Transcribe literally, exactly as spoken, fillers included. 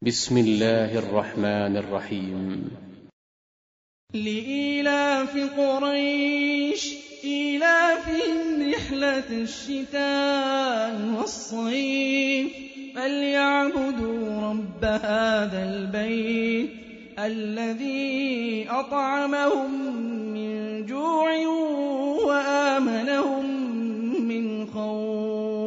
بسم الله الرحمن الرحيم. لإيلاف قريش إيلافهم رحلة الشتاء والصيف فليعبدوا رب هذا البيت الذي أطعمهم من جوع وآمنهم من خوف.